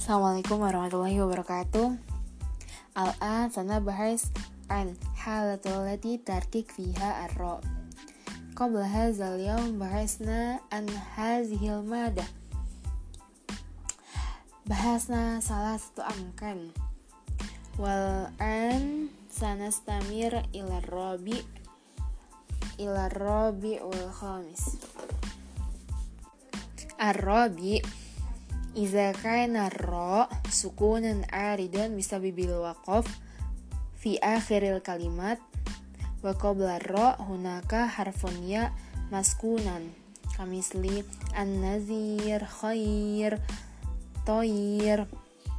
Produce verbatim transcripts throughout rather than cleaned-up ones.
Assalamualaikum warahmatullahi wabarakatuh. Al-an sanabahas an halatul lati tarkik fiha ar-ra. Qabla hadzal yawm bahasna an hazihil madah. Bahasna salah satu amkan. Wal an sanastamir ila rabi ila rabi wal khamis. Ar-rabi Iza kana ra sukunan aridan bisababil waqaf fi akhiril kalimat wa qabla ra hunaka harfun ya maskunan kamisli an-nazir khair toyir.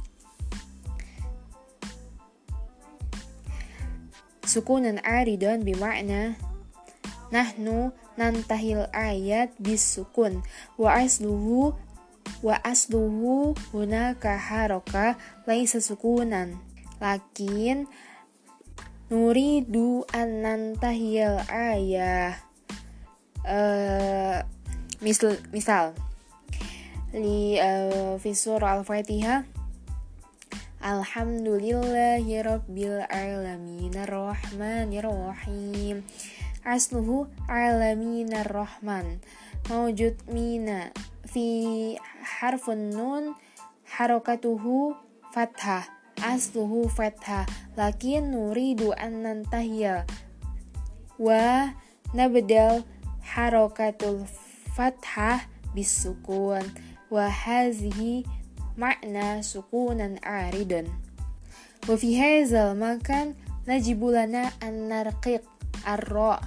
Sukunan aridan bima'na nahnu nantahil ayat bis sukun wa asluhu wa asluhu hunaka haroka laisa sukunan lakin nuridu an nantahiyal ayah uh, misal misal li uh, fi surah al-fatihah alhamdulillahi rabbil alamin arrahmanir rahim asluhu alamin arrahman mawjud mina fi harfun nun harokatuhu fathah asluhu fathah lakin nuridu an nantahiya wa nabdal harokatul fathah bisukun wa hazihi makna sukunan aridun wa fi hadzal makan najibulana an narqiq ar-ra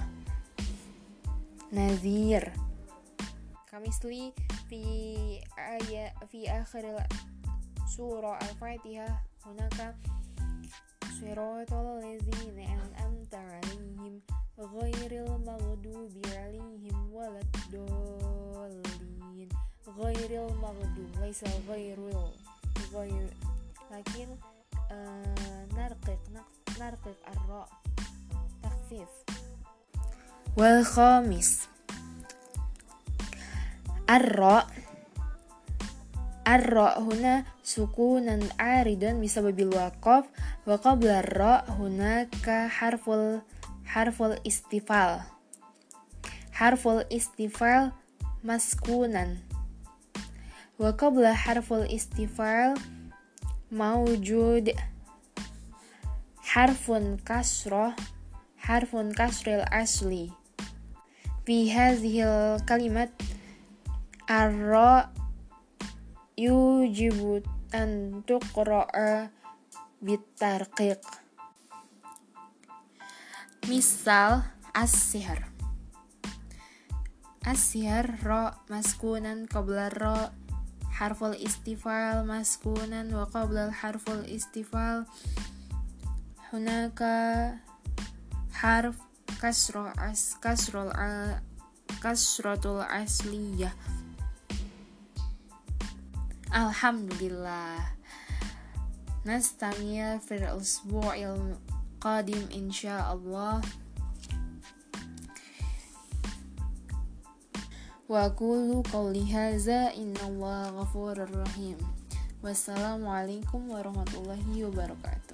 nazir kamisli fi ayat fi akhir surah al-fatihah hunaka siratal ladzina an'amta 'alaihim ghairil maghdubi 'alaihim waladdallin ghairil maghdub laisa ghairul ghair lakin uh, narqiq narqiq ar-ra takhfif wal khamis Ar-ra Ar-ra huna sukunan aridan bisababil waqaf wa qabla ar-ra hunaka harful harful istifal harful istifal maskunan wa qabla harful istifal mawjud harfun kasrah harfun kasril asli fi hadhil kalimat Ar-ra yujibu an tuqra'a bitarqiq. Misal as-sihr. As-sihr ra maskunan qabla ra harful istifal maskunan wa qabla harful istifal hunaka harf kasra as kasrul kasratul asliyah. Alhamdulillah. Nastamir fil usbu'il qadim insyaallah. Wa qulu qawli hadza innallaha ghafurur rahim. Wassalamualaikum warahmatullahi wabarakatuh.